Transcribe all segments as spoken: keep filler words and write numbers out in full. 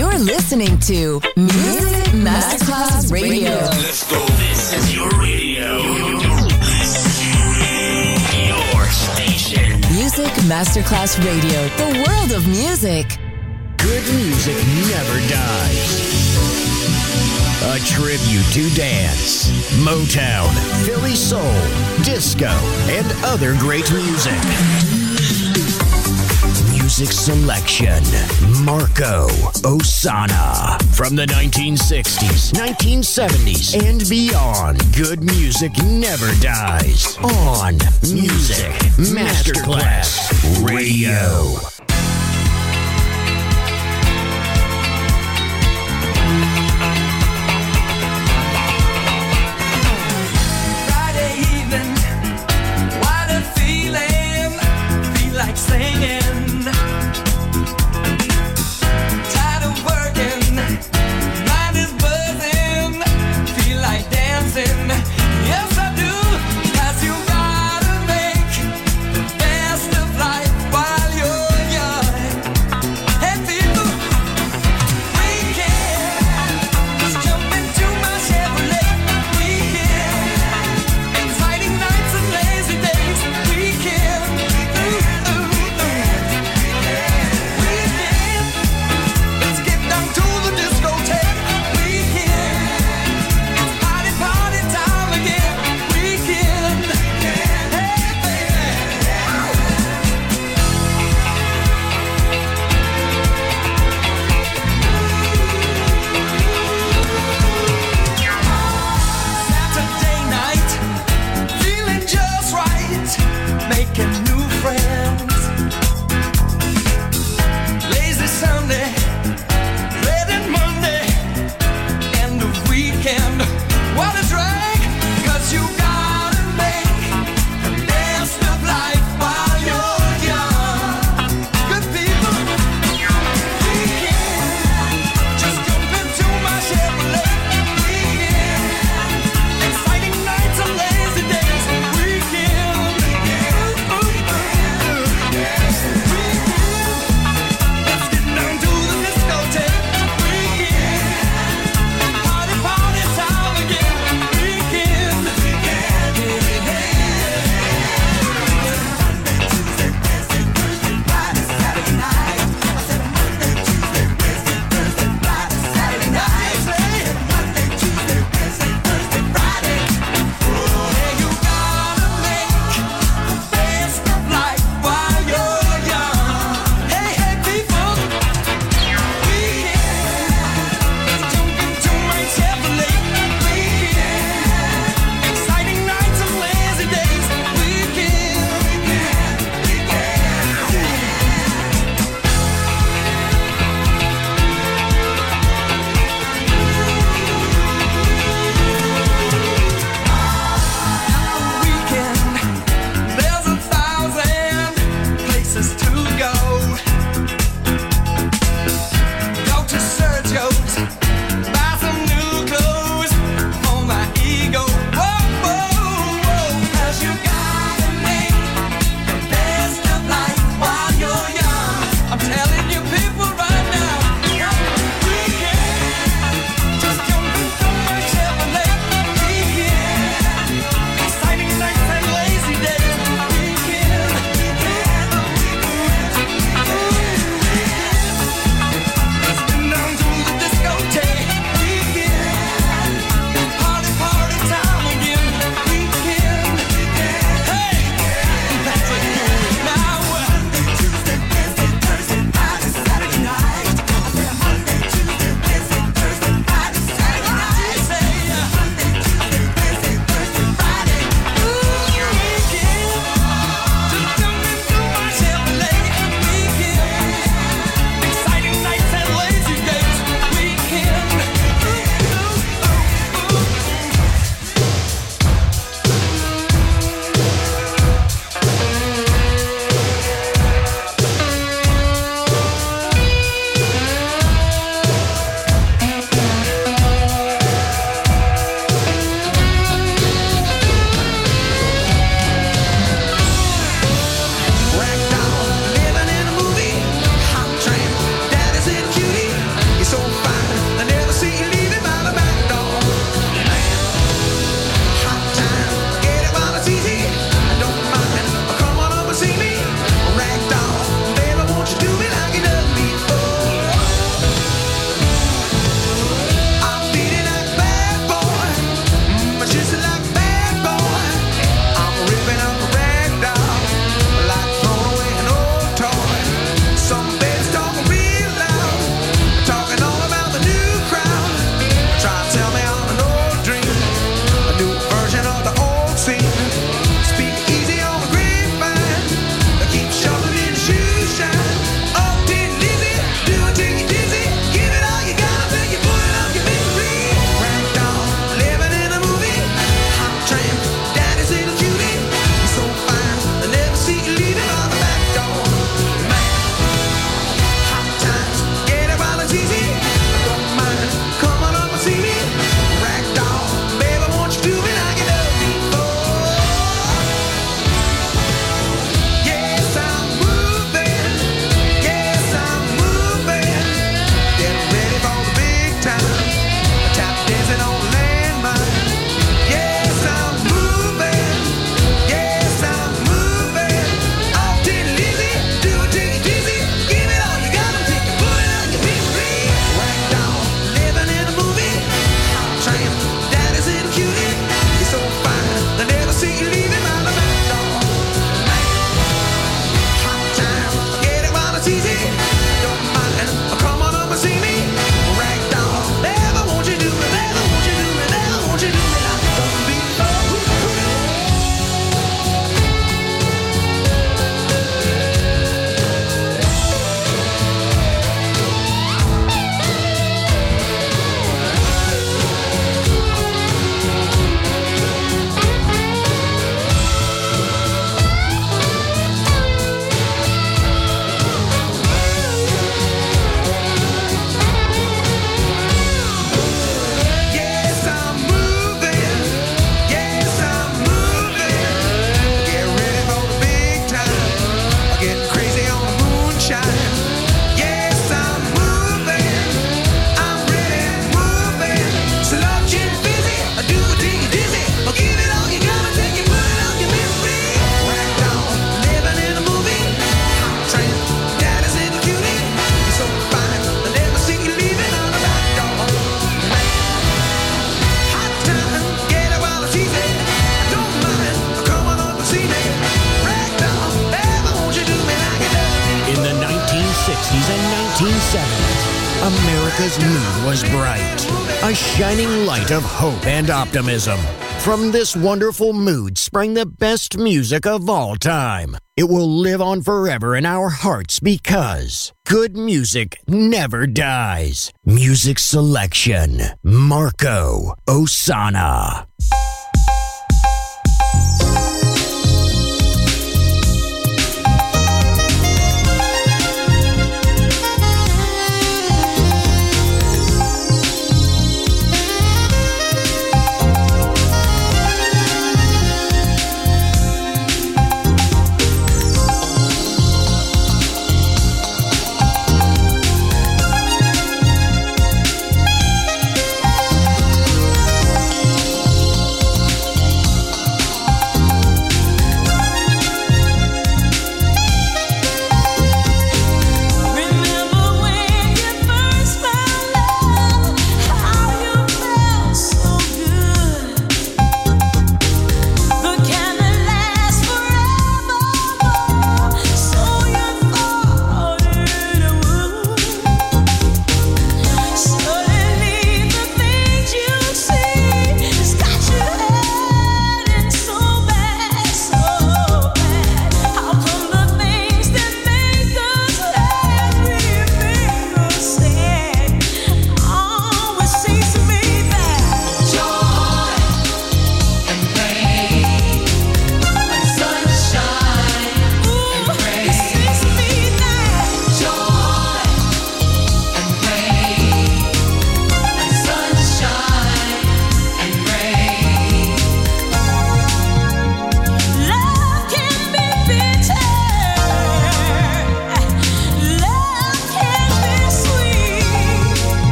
You're listening to Music Masterclass Radio. Let's go. This is your radio. Your station. Music Masterclass Radio. The world of music. Good music never dies. A tribute to dance, Motown, Philly soul, disco, and other great music. Music selection, Marco Ossanna. From the nineteen sixties, nineteen seventies, and beyond, good music never dies. On Music Masterclass Radio. Singing, tired of working, mind is buzzing, feel like dancing, yes I do, 'cause you gotta make the best of life while you're young. America's mood was bright, a shining light of hope and optimism. From this wonderful mood sprang the best music of all time. It will live on forever in our hearts because good music never dies. Music selection, Marco Ossanna.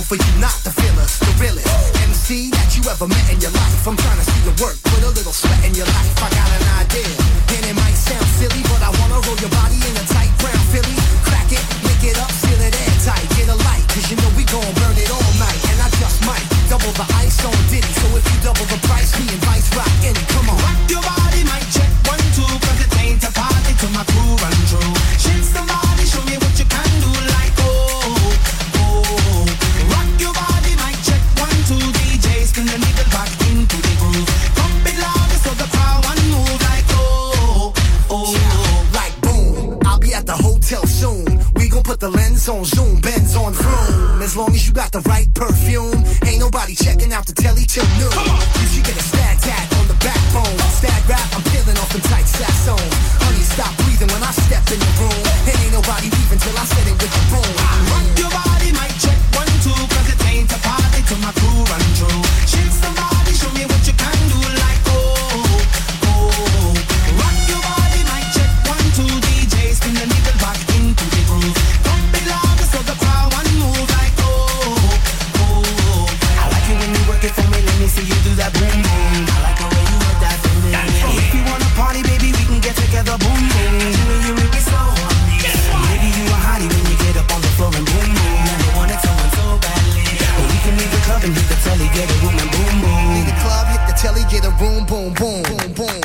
for you not to feel us, the realest M C that you ever met in your life. I'm trying to see your work, put a little sweat in your life. I got an idea, and it might sound silly, but I wanna roll your body in a tight brown Philly. Crack it, lick it up, seal it airtight. Get a light, cause you know we gon' burn it all night. And I just might double the ice on Diddy. So if you double the price, me and Vice rock in it. Come on. Rock your body, mic check, one, two, cause it ain't a party till my crew run through. Shake somebody, show me what you can do, like oh, oh. Rock your body, mic check, one, two, D J, spin the needle back into the groove. Pump it louder so the crowd one move, like oh, oh. Yeah, like boom, I'll be at the hotel soon. We gon' put the lens on zoom, Benz on vroom. As long as you got the right perfume, ain't nobody checking out the telly till noon. You should get a stat tat on the backbone. Stat rap, I'm peeling off them tight saxones. Honey, stop breathing when I step in the room. And ain't nobody leaving till I set it with the boom. Rock your body, mic check, one, two, cause it ain't a party till my crew run through. Shake somebody, show me what you can do, like oh, oh. Rock your body, mic check, one, two, D J, spin the needle back into the groove. Pump it louder so the crowd one move, like oh, oh. I like it when you work it for me, let me see you do that boom boom. I like the way you work that for me. If you wanna party, baby, we can get together, boom boom. You and you make me so horny. Maybe you a hottie when you get up on the floor and boom boom. Never wanted someone so badly, but we can leave the club and hit the telly, get a room and boom boom. Leave the club, hit the telly, get a room, boom, boom, boom, boom.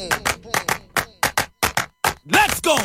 Let's go!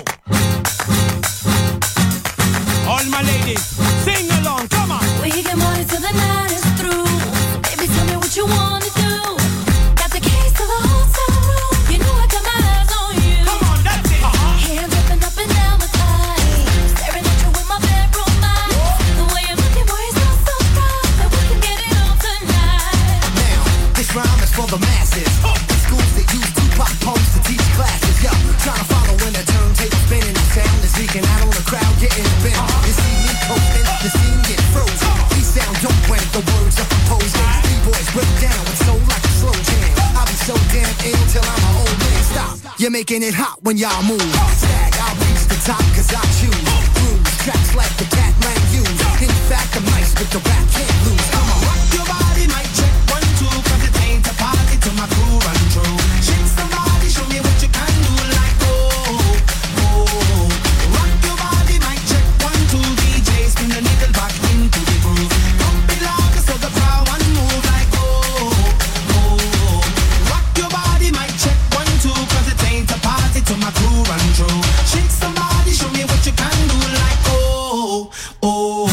All my ladies, sing along, come on! We get money till the night is through. Baby, tell me what you wanna do. Got the keys to the hotel room. You know I got my eyes on you. Come on, that's it! Uh-huh. Hands dripping up and down my thighs. Staring at you with my bedroom eyes. The way you're looking, boy, is not so proud that we can get it on tonight. Now, this rhyme is for the masses. The schools that use Tupac poems to teach classes. Yo, trying to follow when the turntable spinning. The sound is leaking out on the crowd, getting bent. You see me coasting, the scene get frozen. These sound dope when the words are composing. B-boys break down with soul like a slow jam. I'll be so damn ill till I'm an old man. Stop, you're making it hot when y'all move. Stag, I'll reach the top cause I choose. Grooves, tracks like the cat man use. In fact, I'm nice with the rap, can't lose. Come on. Rock your body, mic check, one, two, cause it ain't a party till my crew run through. Shake somebody, show me what you can do, like oh, oh. Rock your body, mic check, one, two, D J, spin the needle back into the groove. Pump it louder so the crowd one move, like oh, oh. Rock your body, mic check, one, two, cause it ain't a party till my crew run through. Shake somebody, show me what you can do, like oh, oh.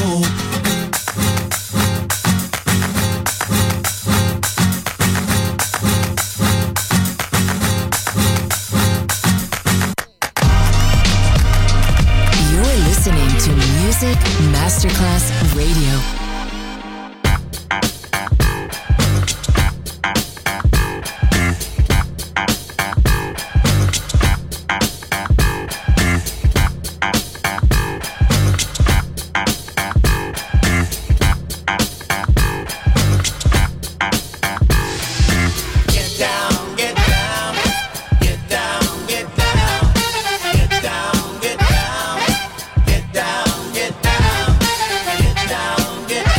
You're listening to Music Masterclass Radio. Get down, get down, get down, get down, get down, get down, get down, get down, get down, get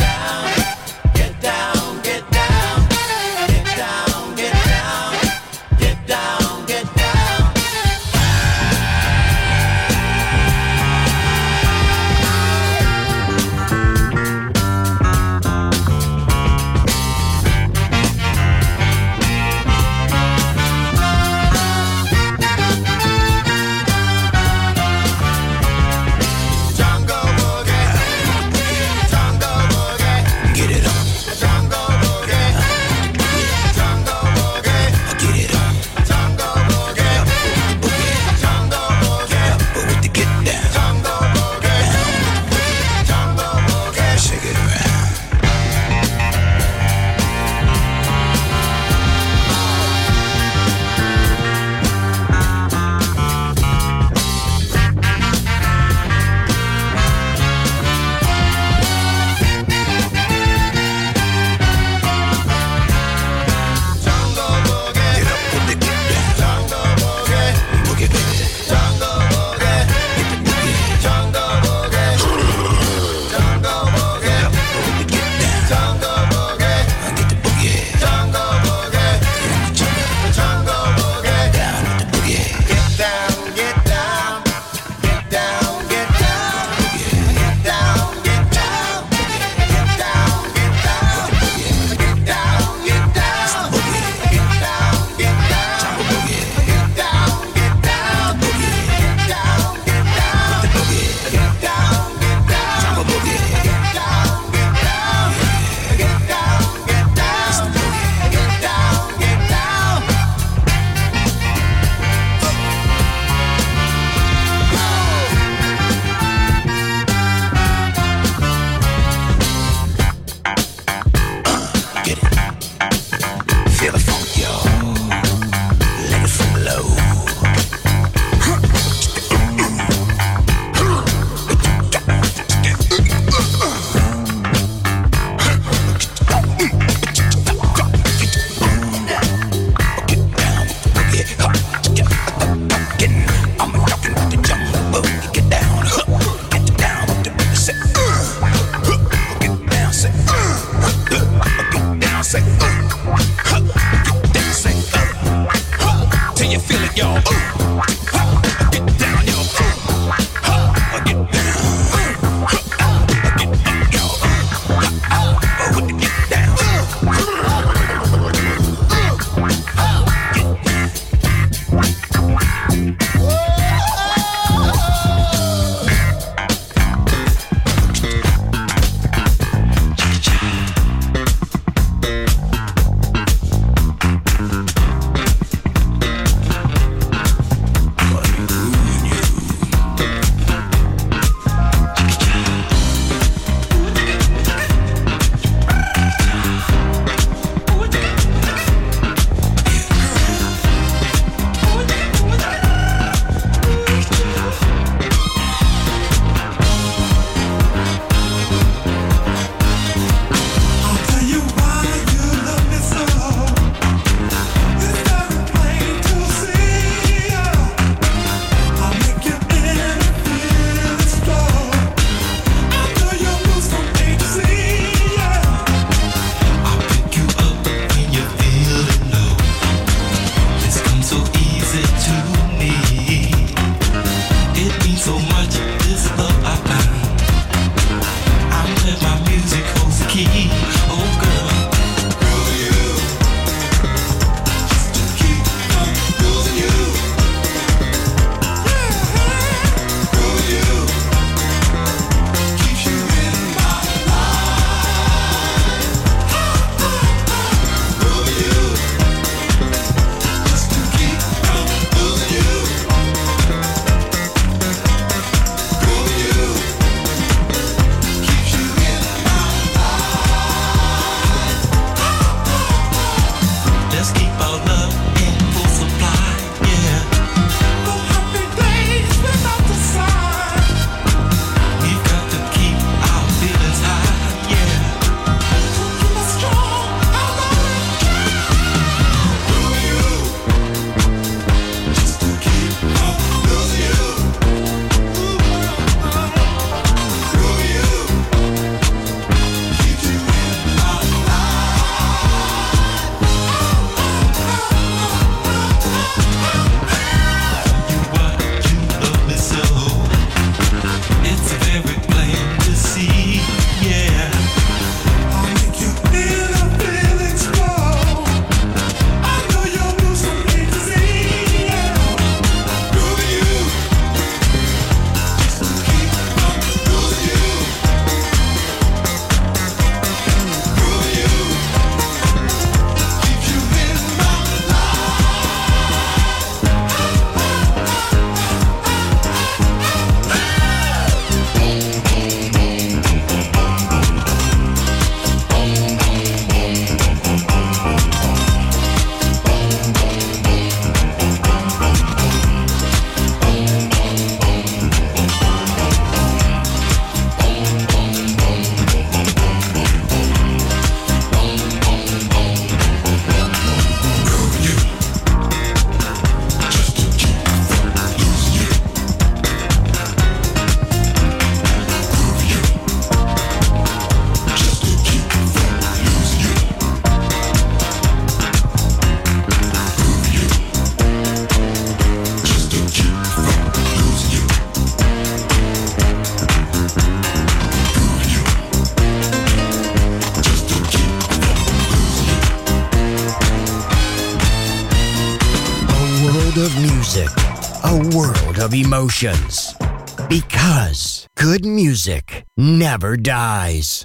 world of emotions. Because good music never dies.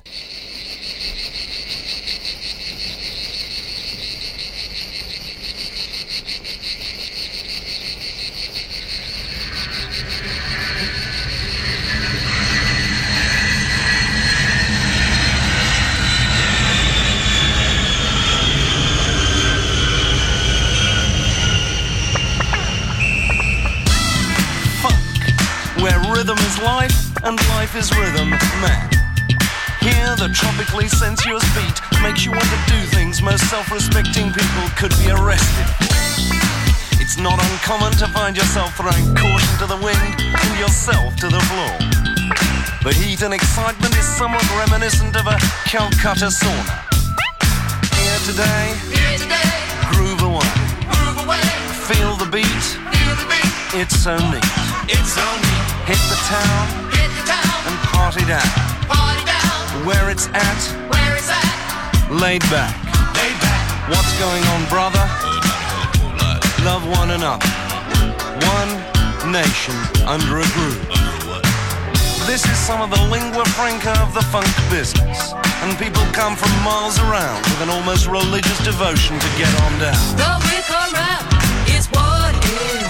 Where rhythm is life and life is rhythm, man. Here the tropically sensuous beat makes you want to do things most self-respecting people could be arrested. It's not uncommon to find yourself throwing caution to the wind and yourself to the floor. The heat and excitement is somewhat reminiscent of a Calcutta sauna. Here today, Here today, groove away, move away, feel the beat, feel the beat, it's so neat. it's so neat. Hit the town Hit the town, and party down. party down, Where it's at, where it's at, laid back. lay back. What's going on, brother? Love one another. One nation under a groove. This is some of the lingua franca of the funk business. And people come from miles around with an almost religious devotion to get on down. Go with or rap is what it is.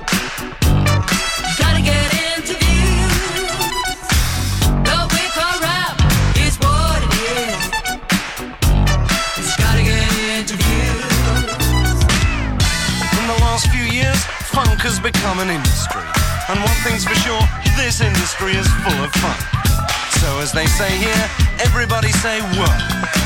Gotta get into views. Go with or rap is what it is. It's gotta get into views. In the last few years, funk has become an industry. And one thing's for sure, this industry is full of fun. So as they say here, everybody say work.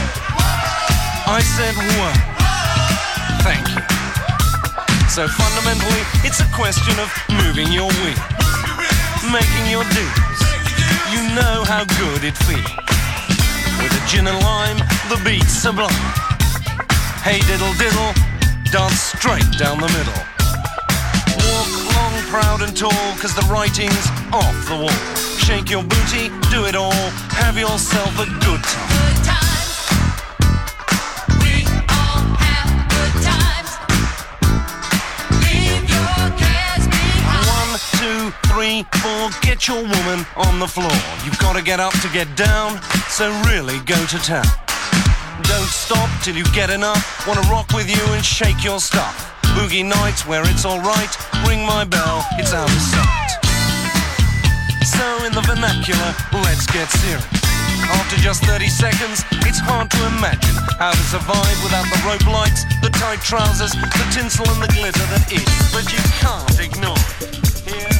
I said work. Thank you. So fundamentally, it's a question of moving your wheels, making your dues. You know how good it feels. With a gin and lime, the beat's sublime. Hey diddle diddle, dance straight down the middle. Walk long, proud and tall, cause the writing's off the wall. Shake your booty, do it all, have yourself a good time. Good times. We all have good times. Leave your cares behind. One, two, three, four, get your woman on the floor. You've got to get up to get down, so really go to town. Don't stop till you get enough, wanna rock with you and shake your stuff. Boogie nights where it's alright, ring my bell, it's out of sight. So in the vernacular, let's get serious. After just thirty seconds, it's hard to imagine how to survive without the rope lights, the tight trousers, the tinsel and the glitter that is. But you can't ignore it. Here.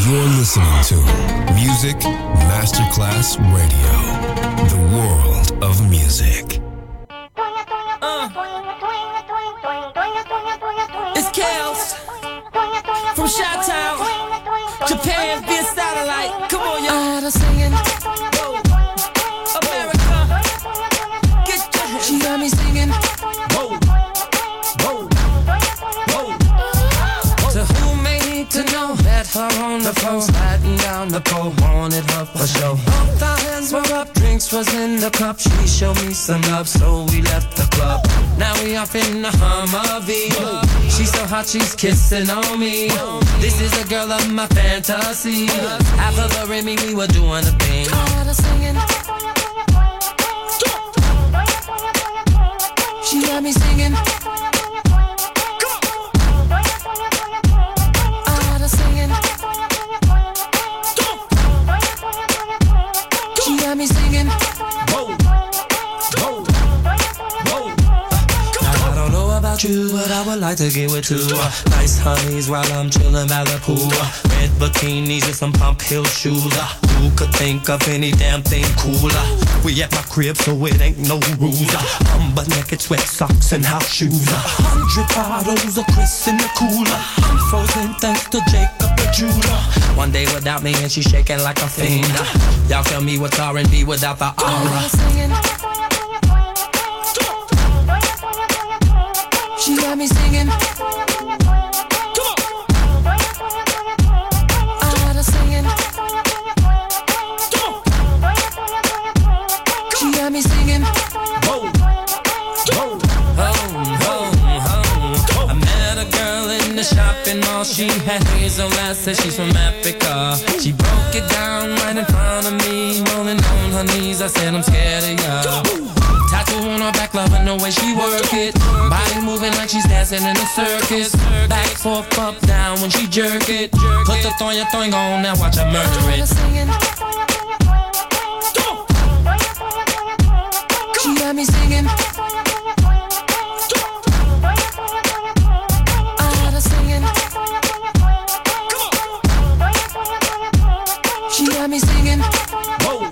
You're listening to Music Masterclass Radio, the world of music. Uh. It's Kels from Chi-Town, Japan via satellite. Come on, y'all. I'm singing. Whoa. America, get your hands. She got me singing. Whoa. Whoa. Whoa. To who may need to know, met her on the floor, sliding down the pole, wanted her for show. Both our hands were up, drinks was in the cup. She showed me some love, so we left the club. Now we off in the Humvee. She's so hot, she's kissing on me. This is a girl of my fantasy. After the Remy, we were doing a thing. She got me singing. She got me singing. Whoa, whoa, whoa. I don't know about you, but I would like to get with two uh, nice honeys while I'm chilling by the pool. Uh, red bikinis and some pump heel shoes. Uh, who could think of any damn thing cooler? We at my crib, so it ain't no rules. Uh, I'm butt naked, sweat socks and house shoes. A uh, hundred bottles of Chris in the cooler. I'm frozen thanks to Jacob the jeweler. One day without me and she shaking like a fiend. Uh, y'all tell me what's R and B without the aura. She got me singing. I was singing. She got me singing. Whoa, whoa, home, home, home. I met a girl in the shopping mall. She had hazel eyes, said she's from Africa. She broke it down right in front of me, rolling on her knees. I said I'm scared of ya. Tattoo on her back, loving the way she work it. Body moving like she's dancing in a circus. Back, forth, up, down when she jerk it. Put the thong, your thong on, now watch her murder it. She got me singing. I was singing. She got me singing. Whoa.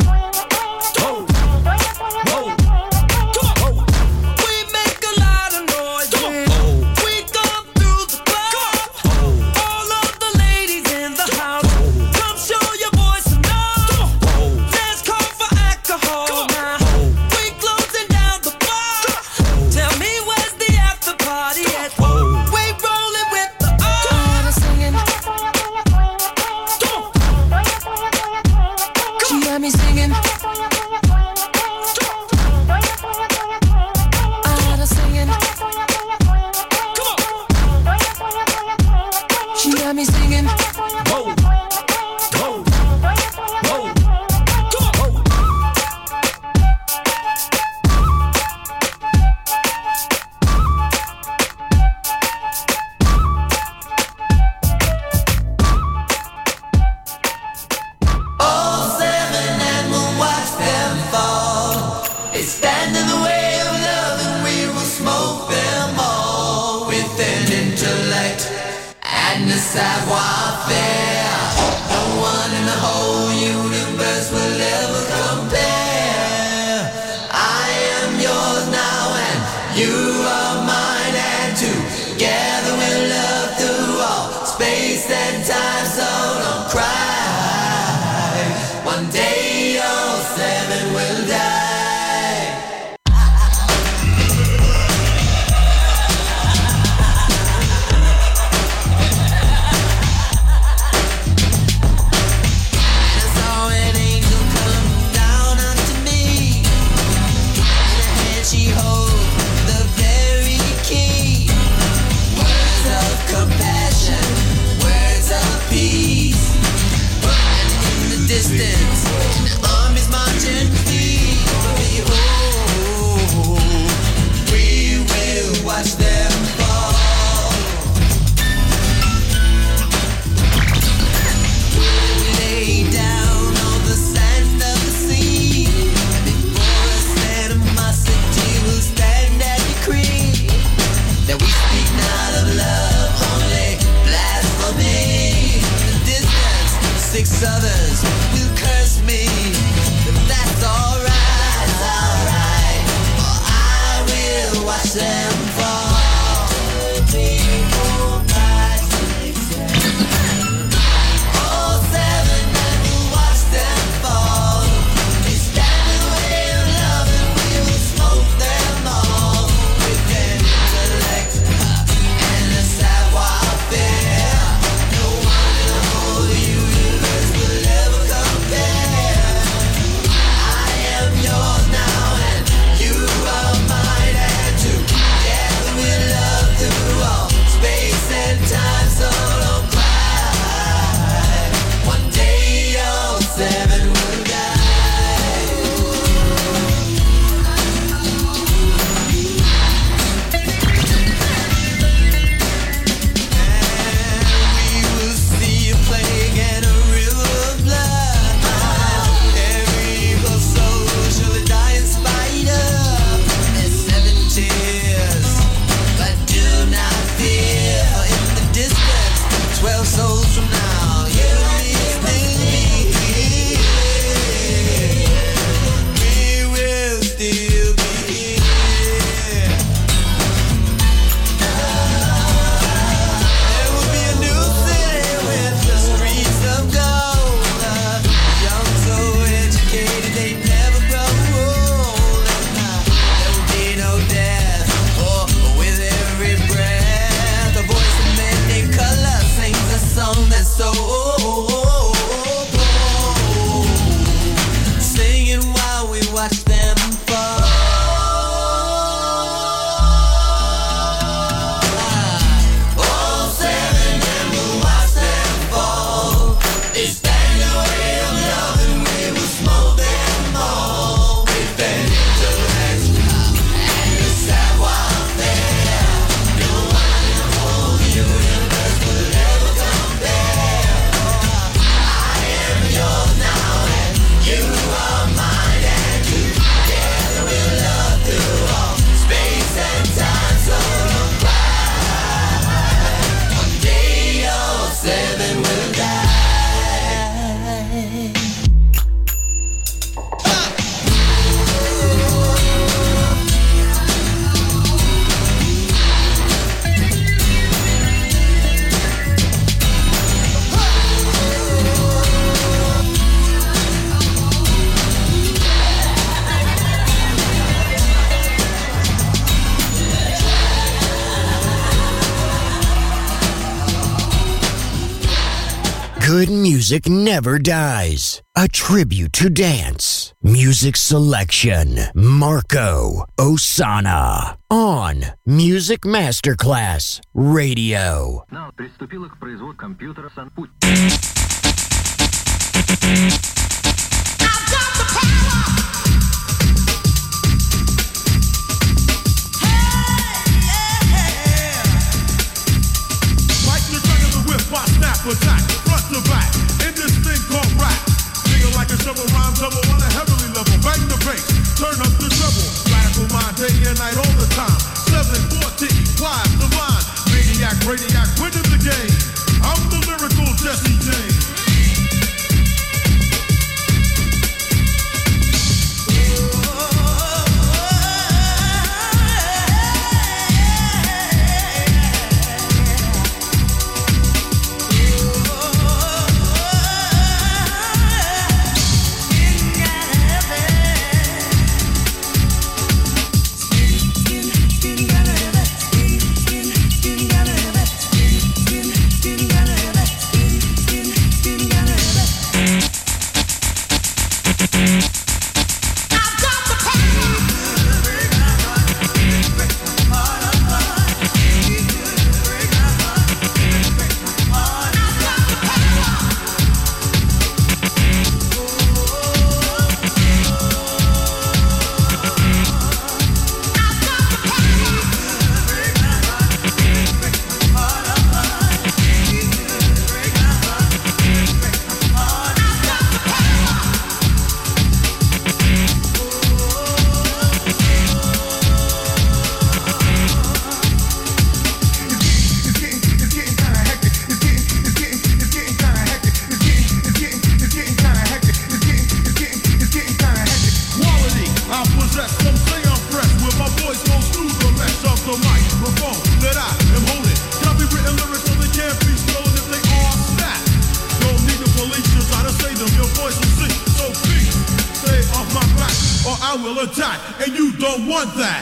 there's others who curse me, but that's alright, that's alright. For I will watch them fall. Three, four, five, six, seven. All seven men who watch them fall. They stand in the way of love and we will smoke them all. With their intellect and a savoir-faire. No one in the whole universe will ever compare. I am yours now and you are mine, and together we'll love through all space and time. So don't cry. One day all seven will die. And we will see a plague and a river of blood. Every evil soul shall die in spite of their seven tears. But do not fear, in the distance, twelve souls from now, you will still be here. We will still be here. There will be a new city with the streets of gold. The young so educated they never grow old. And uh, there will be no death, or with every breath, the voice of many colors sings a song that's so bold. Singing while we watch them fall. All seven men will watch them fall. They stand in the way of love and we will smoke them all. With their intellect and the savoir-faire. No one in the whole universe will ever compare. I am yours now and you are mine, and together we'll love through all space and time. So don't cry. One day all seven will die. Good music never dies. A tribute to dance. Music selection. Marco Ossanna. On Music Masterclass Radio. Now, приступила к производству компьютера Санпуть. Like the turn of the whip, I snap attack, front to back, in this thing called rap. Feel like a shovel rhyme double on a heavenly level. Bang the bass, turn up the treble. Radical mind day and night all the time. seven fourteen, wise, divine, maniac, radiac, winning the game. I'm the lyrical Jesse James. Skin, skin, will attack, and you don't want that.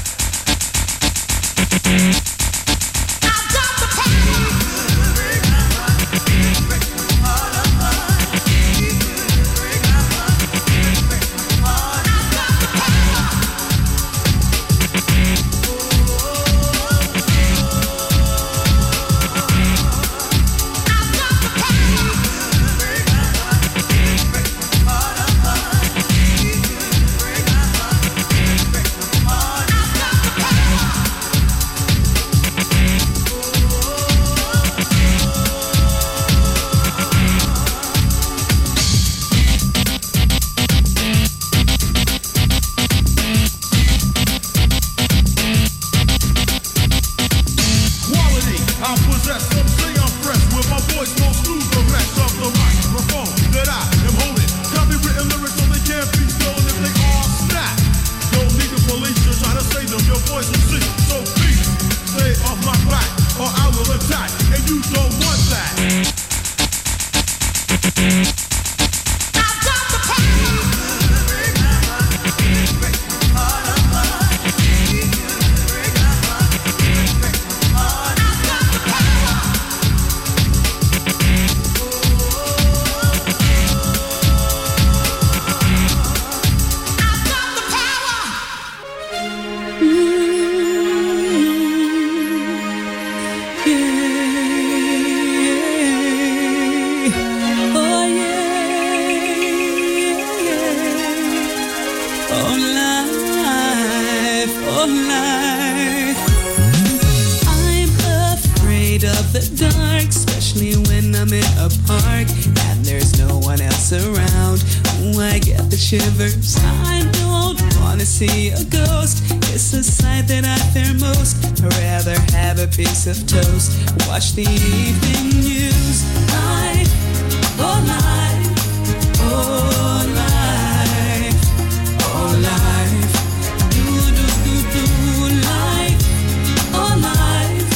Shivers, I don't wanna see a ghost. It's the sight that I fear most. I'd rather have a piece of toast. Watch the evening news. Life, oh life, oh life, oh life. Do do do do life, oh life,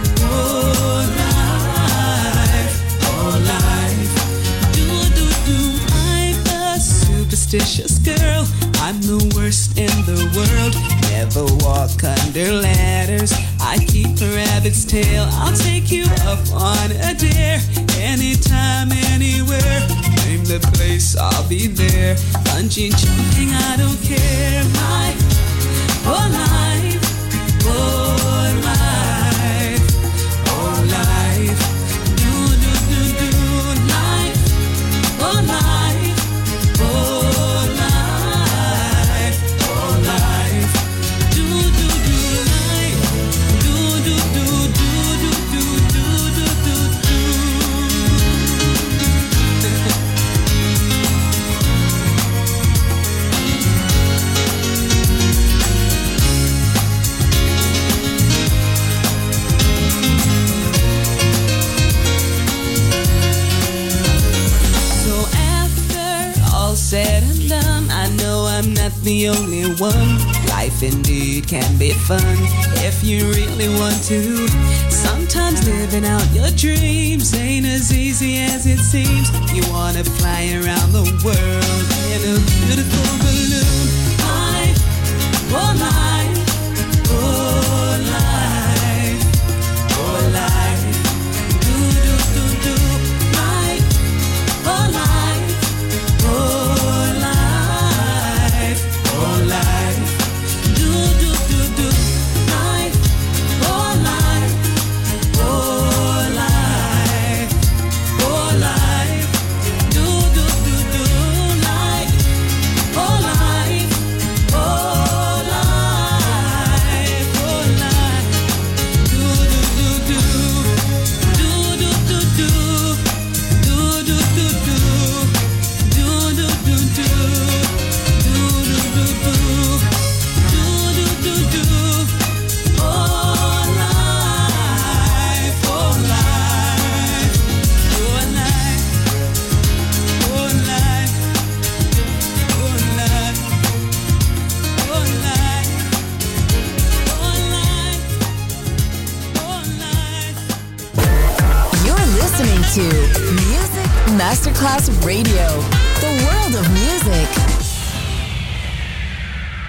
oh life, oh life. Do do do. I'm a superstitious girl. I'm the worst in the world. Never walk under ladders. I keep a rabbit's tail. I'll take you up on a dare. Anytime, anywhere. Name the place, I'll be there. Bungee jumping, I don't care. Life, oh life, oh life, oh life. Do do do do life, oh life, oh life, oh life. Do do do life, do do do do do do do do do. So after all said and done, I know I'm not the only one. Life indeed can be fun if you really want to. Sometimes living out your dreams ain't as easy as it seems. You wanna fly around the world in a beautiful balloon. Life, oh life, oh life, oh life. Do do do do life, oh life, oh life, oh life. Do do do do life, oh life, oh life, oh life. Do do do do life, oh life, oh life, oh life. Do do do do, do do do do, do do do do, do do do do, do do do do, do do do do. Oh life, oh life, oh life, oh life, oh life, oh life, oh life, oh life. You're listening to Music Masterclass Radio, the world of music.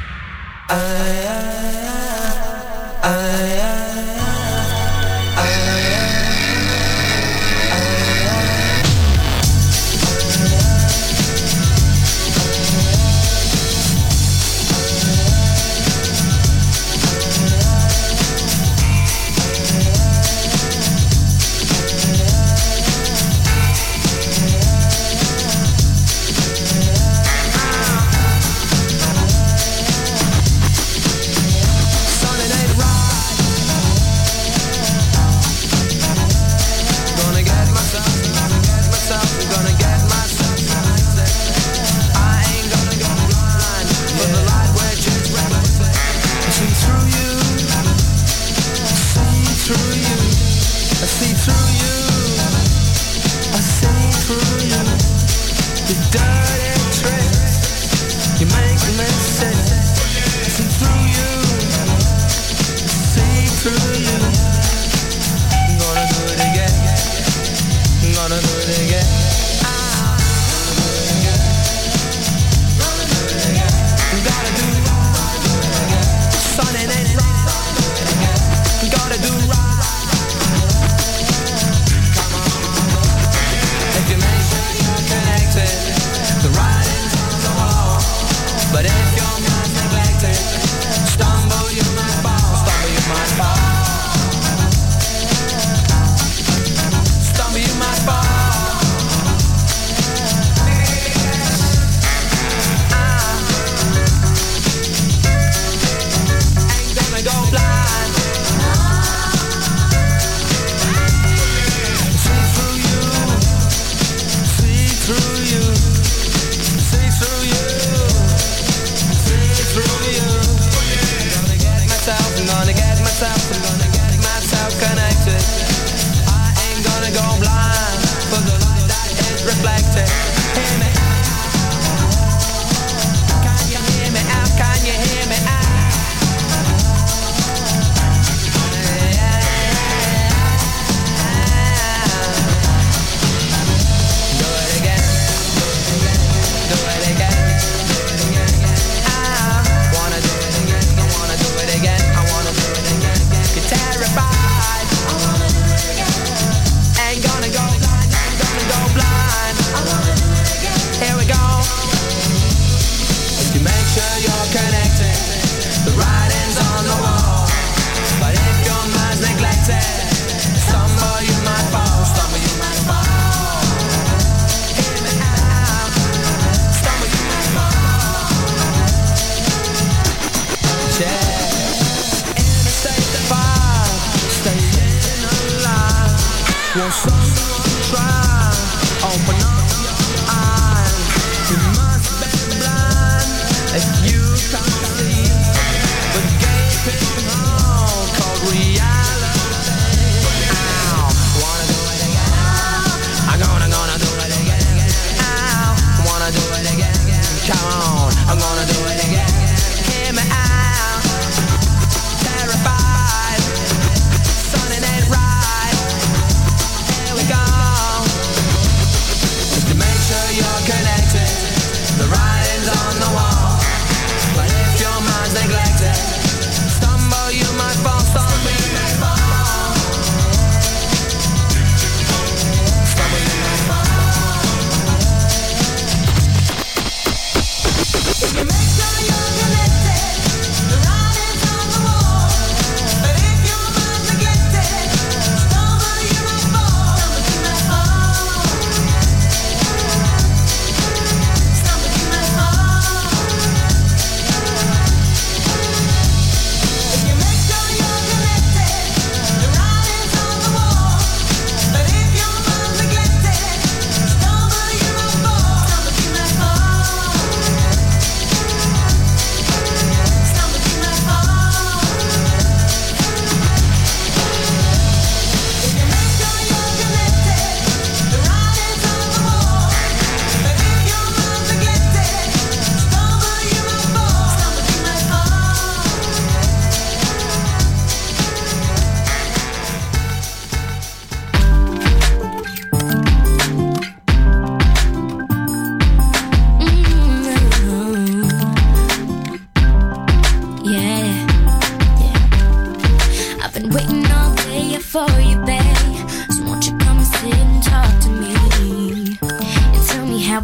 Make sure you're connected. The writing's on the wall. But if your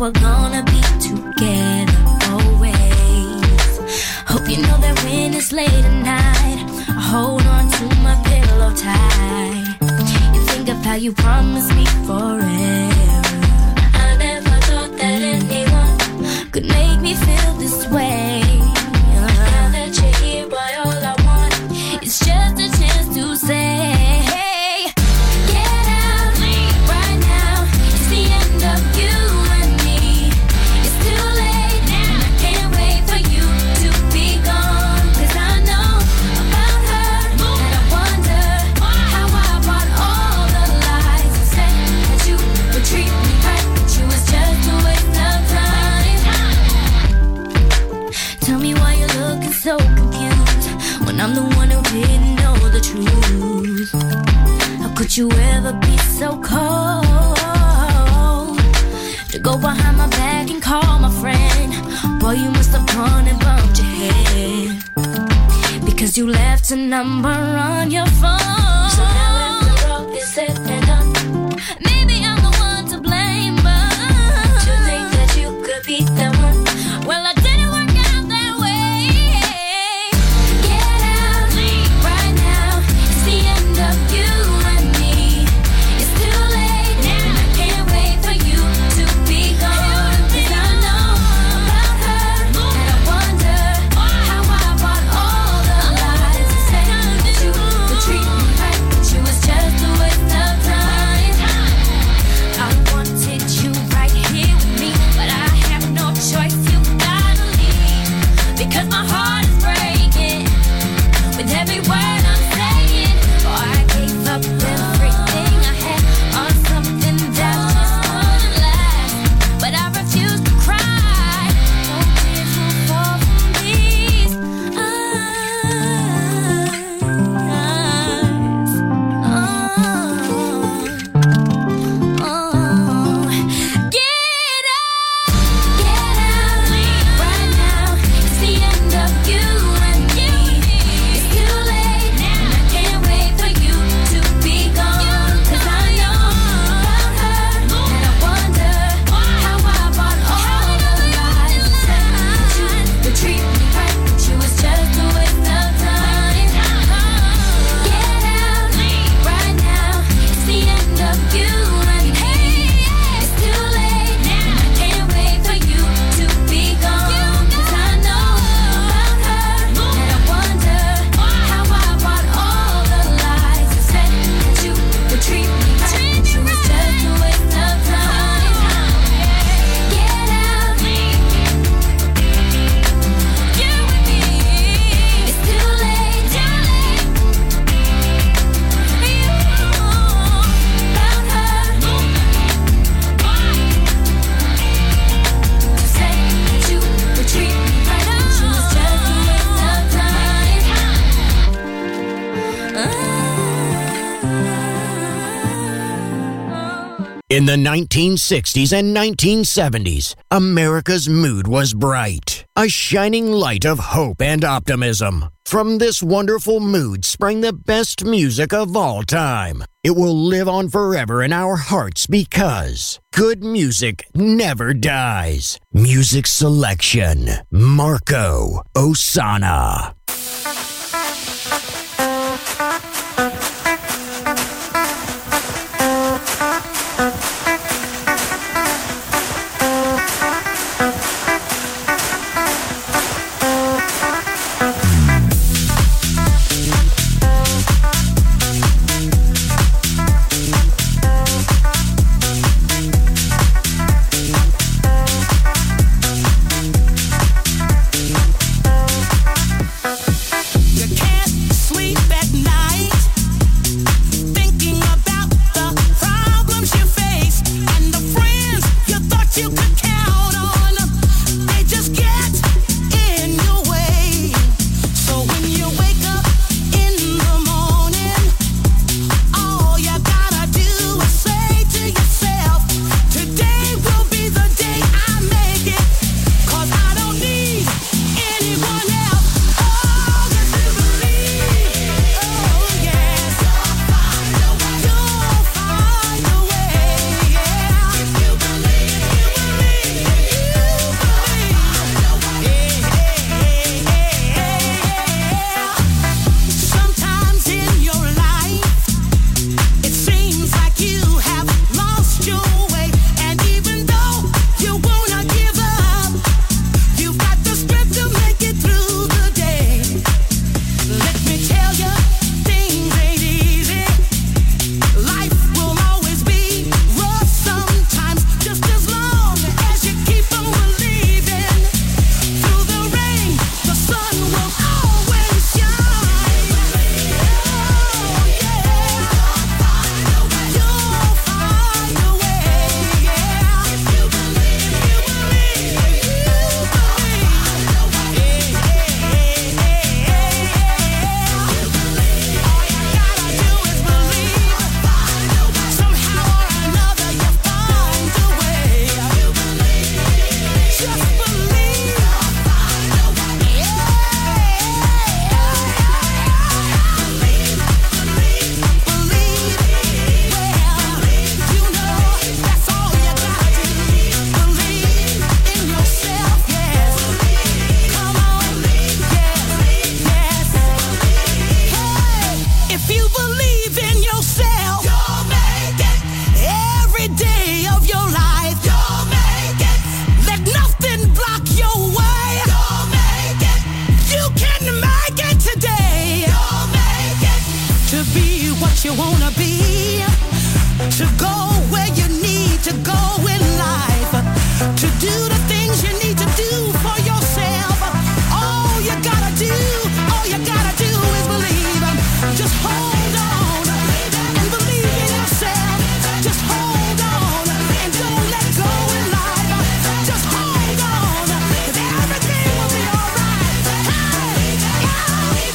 we're gonna be together always. Hope you know that when it's late at night, I hold on to my pillow tight. You think of how you promised me forever. I never thought that anyone could make me feel this way. Now that you're here, boy, all I want is just a chance to say, hey, get out right now. It's the end of you and me. It's too late now. I can't wait for you to be gone. 'Cause I know about her, and I wonder how I bought all the lies and said that you would treat me right, but you was just a waste of time. Tell me why you're looking so confused when I'm the one who didn't know the truth. How could you ever be so cold to go behind my back and call my friend? Boy, you must have gone and bumped your head because you left a number on your phone. So now if the road is said and done, maybe I'm the one to blame, but to think that you could be the one, well, I didn't work out that way. Get out right now. It's the end of you and me. It's too late now. I can't wait for you to be gone. 'Cause I know about her, and I wonder how I bought all the lies and said that you would treat me right, but you was just a waste of time. I wanted you right here with me, but I have no choice. You gotta leave because my heart is breaking with every word I'm saying. Oh, I gave up everything I had on something that just wouldn't last, but I refuse to cry. No tears will fall from these eyes. Oh, oh. Get out, get out right now. It's the end of you and me. It's too late now. I can't wait for you to be gone. 'Cause I know about her, and I wonder how I bought all the lies and said that you would treat me right, but you was just a waste of time. Get out right now. It's the end of you and me. It's too late now. I can't wait for you to be gone. 'Cause I know about her, and I wonder how I bought all the lies and said that you would treat me right, but you was just a waste of time. Get out, you and me. It's too late, too late. You about her, said that you would treat me right, but you was just a waste of time. In the nineteen sixties and nineteen seventies, America's mood was bright, a shining light of hope and optimism. From this wonderful mood sprang the best music of all time. It will live on forever in our hearts because good music never dies. Music selection, Marco Ossanna. Thank you wanna be, to go where you need to go in life, to do the things you need to do for yourself. All you gotta do, all you gotta do is believe. Just hold on and believe in yourself. Just hold on and don't let go in life. Just hold on, 'cause everything will be alright. Hey, hey,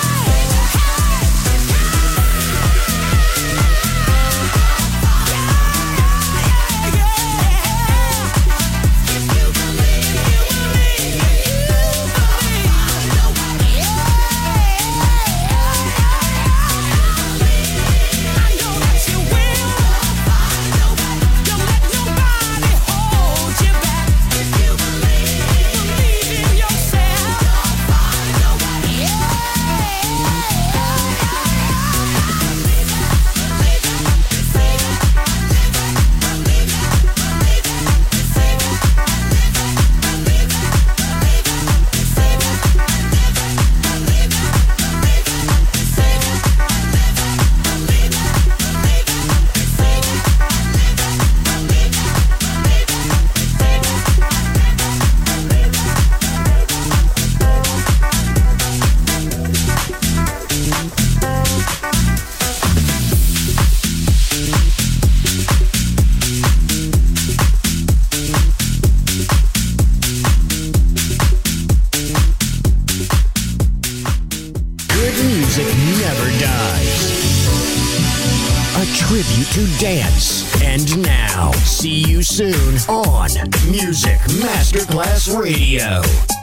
to dance. And now, see you soon on Music Masterclass Radio.